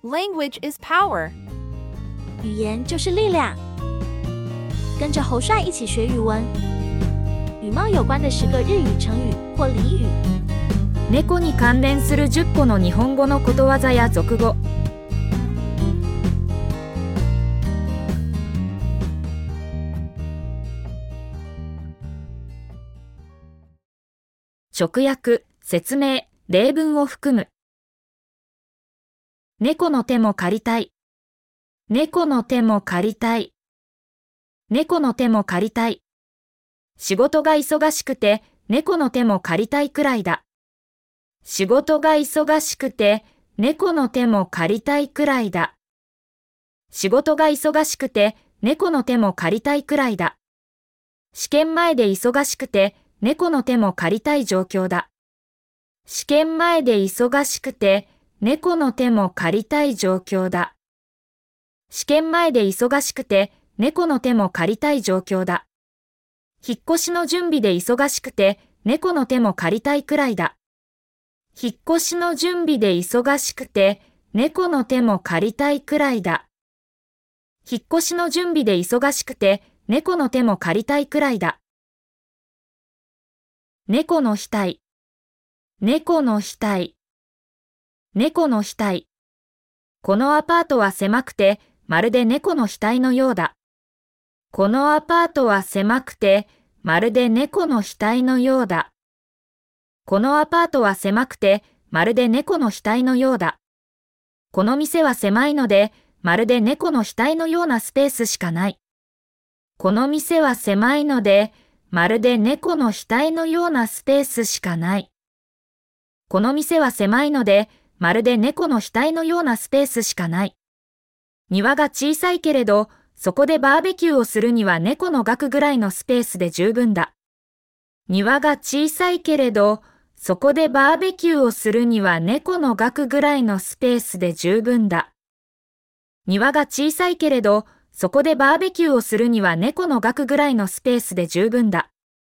Language is power. 语言就是力量。跟着侯帅一起学语文，羽毛有关的10个日语成语或俚语。 猫に関連する10個の日本語のことわざや俗語。直訳、説明、例文を含む。猫の手も借りたい。猫の手も借りたい。猫の手も借りたい。仕事が忙しくて猫の手も借りたいくらいだ。仕事が忙しくて猫の手も借りたいくらいだ。仕事が忙しくて猫の手も借りたいくらいだ。試験前で忙しくて猫の手も借りたい状況だ。試験前で忙しくて猫の手も借りたい状況だ。試験前で忙しくて猫の手も借りたい状況だ。引っ越しの準備で忙しくて猫の手も借りたいくらいだ。引っ越しの準備で忙しくて猫の手も借りたいくらいだ。引っ越しの準備で忙しくて猫の手も借りたいくらいだ。猫の額。猫の額。猫の額。このアパートは狭くてまるで猫の額のようだ。このアパートは狭くてまるで猫の額のようだ。このアパートは狭くてまるで猫の額のようだ。この店は狭いのでまるで猫の額のようなスペースしかない。この店は狭いのでまるで猫の額のようなスペースしかない。この店は狭いのでまるで猫の額のようなスペースしかない。庭が小さいけれどそこでバーベキューをするには猫の額ぐらいのスペースで十分だ。庭が小さいけれどそこでバーベキューをするには猫の額ぐらいのスペースで十分だ。庭が小さいけれどそこでバーベキューをするには猫の額ぐらいのスペースで十分だ。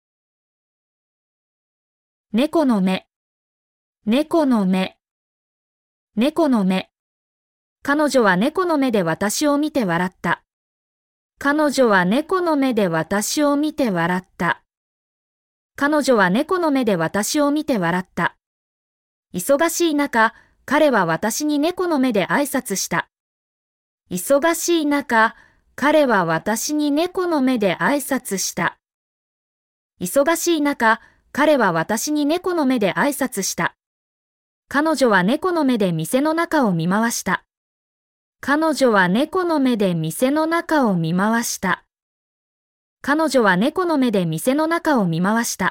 猫の目。猫の目。猫の目。彼女は猫の目で私を見て笑った。彼女は猫の目で私を見て笑った。彼女は猫の目で私を見て笑った。忙しい中、彼は私に猫の目で挨拶した。忙しい中、彼は私に猫の目で挨拶した。忙しい中、彼は私に猫の目で挨拶した。彼女は猫の目で店の中を見回した。彼女は猫の目で店の中を見回した。彼女は猫の目で店の中を見回した。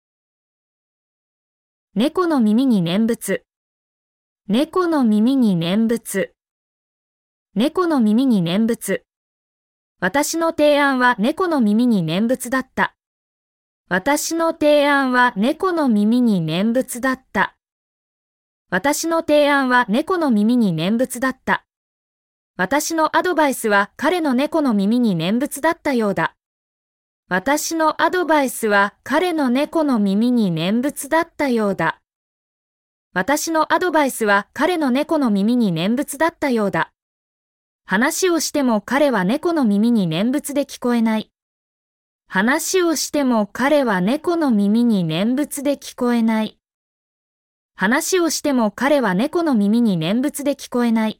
猫の耳に念仏。猫の耳に念仏。猫の耳に念仏。私の提案は猫の耳に念仏だった。私の提案は猫の耳に念仏だった。私の提案は猫の耳に念仏だった。私のアドバイスは彼の猫の耳に念仏だったようだ。私のアドバイスは彼の猫の耳に念仏だったようだ。私のアドバイスは彼の猫の耳に念仏だったようだ。話をしても彼は猫の耳に念仏で聞こえない。話をしても彼は猫の耳に念仏で聞こえない。話をしても彼は猫の耳に念仏で聞こえない。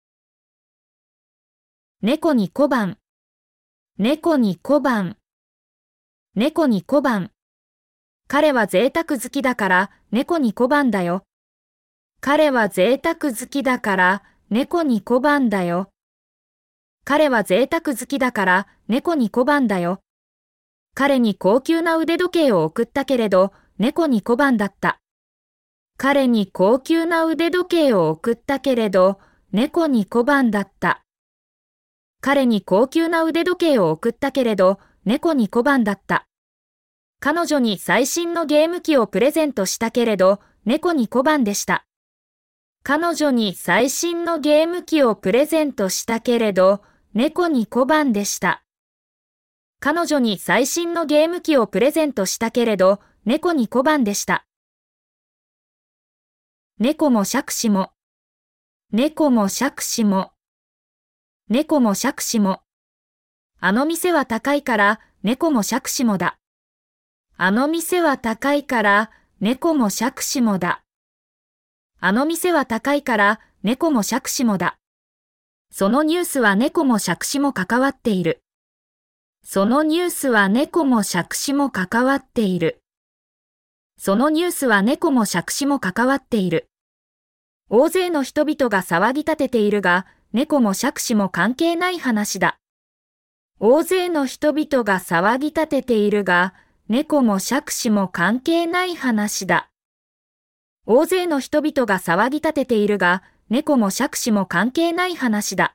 猫に小判。猫に小判。猫に小判。彼は贅沢好きだから猫に小判だよ。彼は贅沢好きだから猫に小判だよ。彼は贅沢好きだから猫に小判だよ。彼に高級な腕時計を送ったけれど猫に小判だった。彼に高級な腕時計を送ったけれど猫に小判だった。彼に高級な腕時計を送ったけれど猫に小判だった。彼女に最新のゲーム機をプレゼントしたけれど猫に小判でした。彼女に最新のゲーム機をプレゼントしたけれど猫に小判でした。彼女に最新のゲーム機をプレゼントしたけれど猫に小判でした。猫も杓子も。 猫も杓子も。猫も杓子も。あの店は高いから猫も杓子もだ。あの店は高いから猫も杓子もだ。あの店は高いから猫も杓子もだ。そのニュースは猫も杓子も関わっている。そのニュースは猫も杓子も関わっている。そのニュースは猫も杓子も関わっている。大勢の人々が騒ぎ立てているが、猫も杓子も関係ない話だ。大勢の人々が騒ぎ立てているが、猫も杓子も関係ない話だ。大勢の人々が騒ぎ立てているが、猫も杓子も関係ない話だ。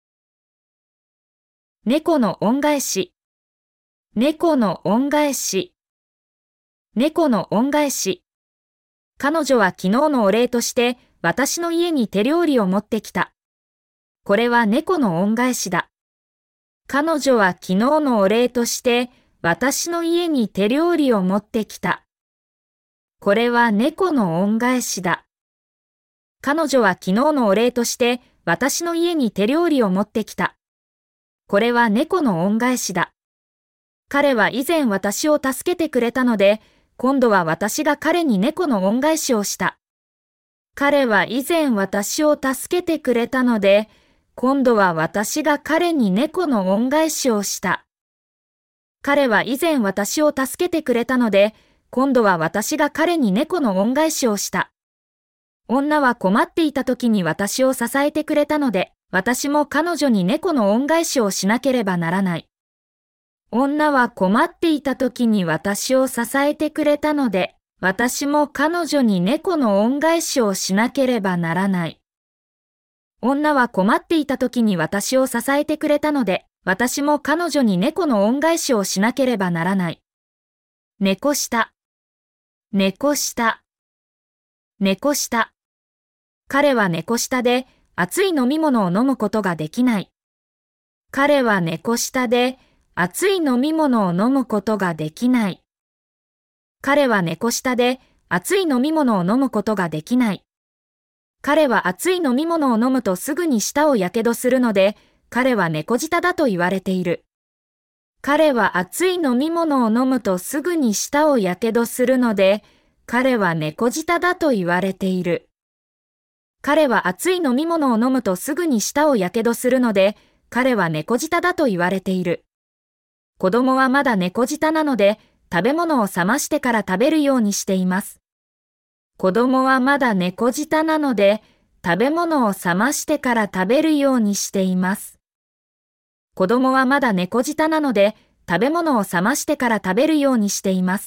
猫の恩返し。猫の恩返し。猫の恩返し。彼女は昨日のお礼として私の家に手料理を持ってきた。これは猫の恩返しだ。彼女は昨日のお礼として私の家に手料理を持ってきた。これは猫の恩返しだ。彼女は昨日のお礼として私の家に手料理を持ってきた。これは猫の恩返しだ。彼は以前私を助けてくれたので、今度は私が彼に猫の恩返しをした。彼は以前私を助けてくれたので、今度は私が彼に猫の恩返しをした。彼は以前私を助けてくれたので、今度は私が彼に猫の恩返しをした。女は困っていた時に私を支えてくれたので、私も彼女に猫の恩返しをしなければならない。女は困っていた時に私を支えてくれたので、私も彼女に猫の恩返しをしなければならない。女は困っていた時に私を支えてくれたので、私も彼女に猫の恩返しをしなければならない。猫舌。猫舌。猫舌。彼は猫舌で熱い飲み物を飲むことができない。彼は猫舌で熱い飲み物を飲むことができない。彼は猫舌で熱い飲み物を飲むことができない。彼は熱い飲み物を飲むとすぐに舌をやけどするので、彼は猫舌だと言われている。彼は熱い飲み物を飲むとすぐに舌をやけどするので、彼は猫舌だと言われている。彼は熱い飲み物を飲むとすぐに舌をやけどするので、彼は猫舌だと言われている。子供はまだ猫舌なので、食べ物を冷ましてから食べるようにしています。子供はまだ猫舌なので、食べ物を冷ましてから食べるようにしています。子供はまだ猫舌なので、食べ物を冷ましてから食べるようにしています。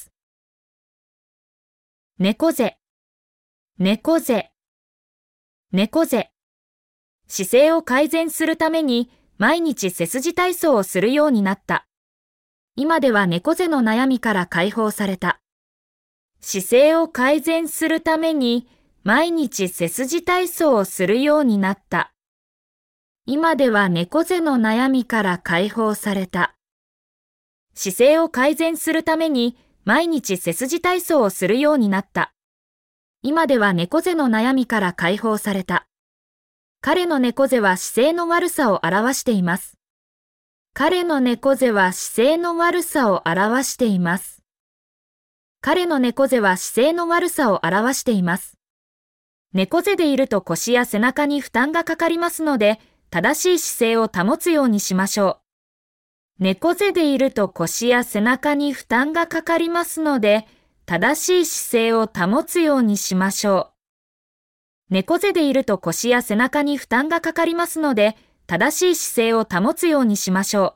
猫背。猫背。猫背。姿勢を改善するために、毎日背筋体操をするようになった。今では猫背の悩みから解放された。姿勢を改善するために、毎日背筋体操をするようになった。今では猫背の悩みから解放された。姿勢を改善するために、毎日背筋体操をするようになった。今では猫背の悩みから解放された。彼の猫背は姿勢の悪さを表しています。彼の猫背は姿勢の悪さを表しています。彼の猫背は姿勢の悪さを表しています。猫背でいると腰や背中に負担がかかりますので、正しい姿勢を保つようにしましょう。猫背でいると腰や背中に負担がかかりますので、正しい姿勢を保つようにしましょう。猫背でいると腰や背中に負担がかかりますので、正しい姿勢を保つようにしましょ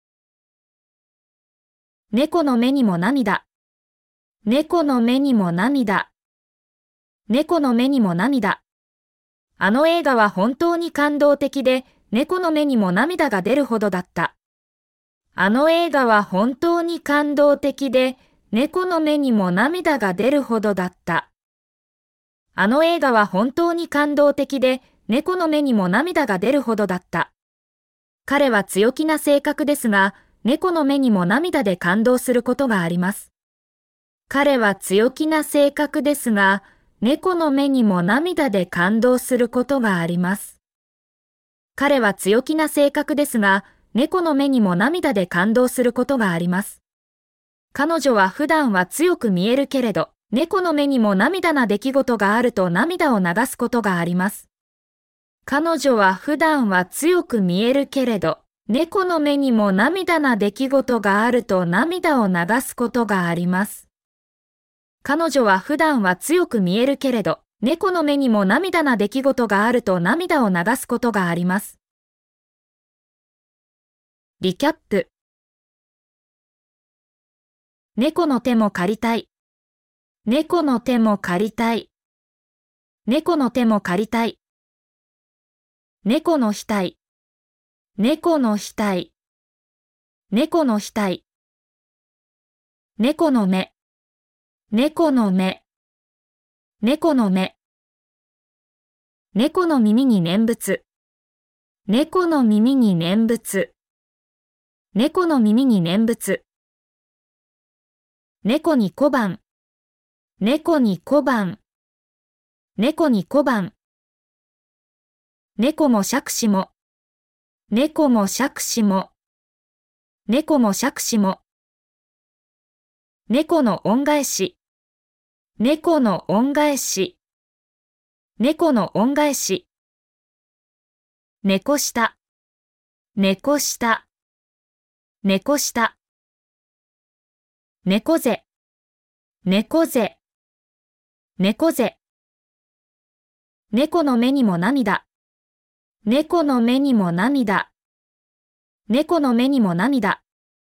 う。猫の目にも涙。猫の目にも涙。猫の目にも涙。あの映画は本当に感動的で、猫の目にも涙が出るほどだった。あの映画は本当に感動的で、猫の目にも涙が出るほどだった。あの映画は本当に感動的で、猫の目にも涙が出るほどだった。彼は強気な性格ですが、猫の目にも涙で感動することがあります。彼は強気な性格ですが、 猫の目にも涙で感動することがあります。彼は強気な性格ですが、猫の目にも涙で感動することがあります。彼女は普段は強く見えるけれど、猫の目にも涙な出来事があると涙を流すことがあります。彼女は普段は強く見えるけれど、猫の目にも涙な出来事があると涙を流すことがあります。彼女は普段は強く見えるけれど、猫の目にも涙な出来事があると涙を流すことがあります。リキャップ。猫の手も借りたい。猫の手も借りたい。猫の手も借りたい。猫の額。猫の額。猫の額。猫の目。猫の目。猫の目。猫の耳に念仏。猫の耳に念仏。猫の耳に念仏。猫に小判。猫に小判。猫に小判。猫も杓子も。猫も杓子も。猫も杓子も。猫の恩返し。猫の恩返し。猫の恩返し。猫下。猫下。猫下。猫背。猫背。猫背。猫の目にも涙。猫の目にも涙。猫の目にも涙。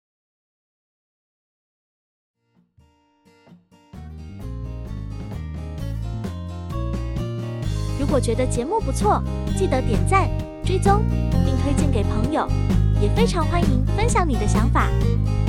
如果觉得节目不错，记得点赞、追踪，并推荐给朋友，也非常欢迎分享你的想法。